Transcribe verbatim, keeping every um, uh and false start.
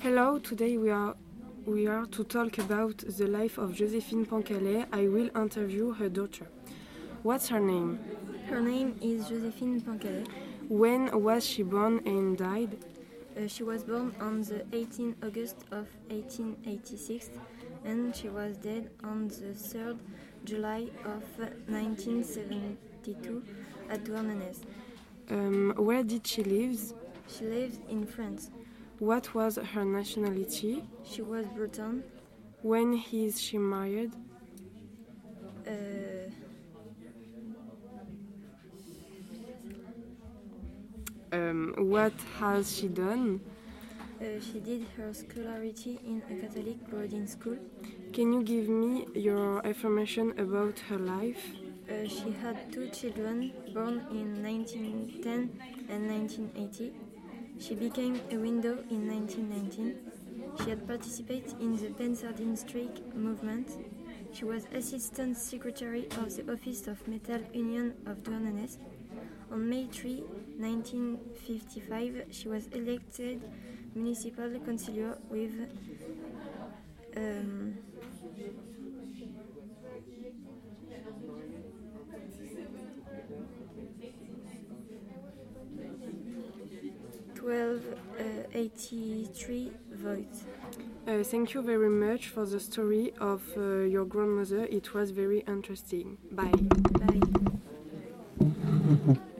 Hello, today we are we are to talk about the life of Joséphine Pancallet. I will interview her daughter. What's her name? Her name is Joséphine Pancallet. When was she born and died? Uh, she was born on the eighteenth of August of eighteen eighty-six and she was dead on the third of July of nineteen seventy-two at Douarnenez. Um, where did she live? She lives in France. What was her nationality? She was Breton. When is she married? Uh, Um, what has she done? uh, she did her scholarity in a Catholic boarding school. Can you give me your information about her life? Uh, she had two children born in nineteen ten and nineteen eighty. She became a widow in nineteen nineteen. She had participated in the Pensardine Strike movement. She was Assistant Secretary of the Office of Metal Union of Douarnenez. On May third, nineteen fifty-five, she was elected municipal councillor with um, twelve eighty-three votes. Uh, thank you very much for the story of uh, your grandmother. It was very interesting. Bye. Bye.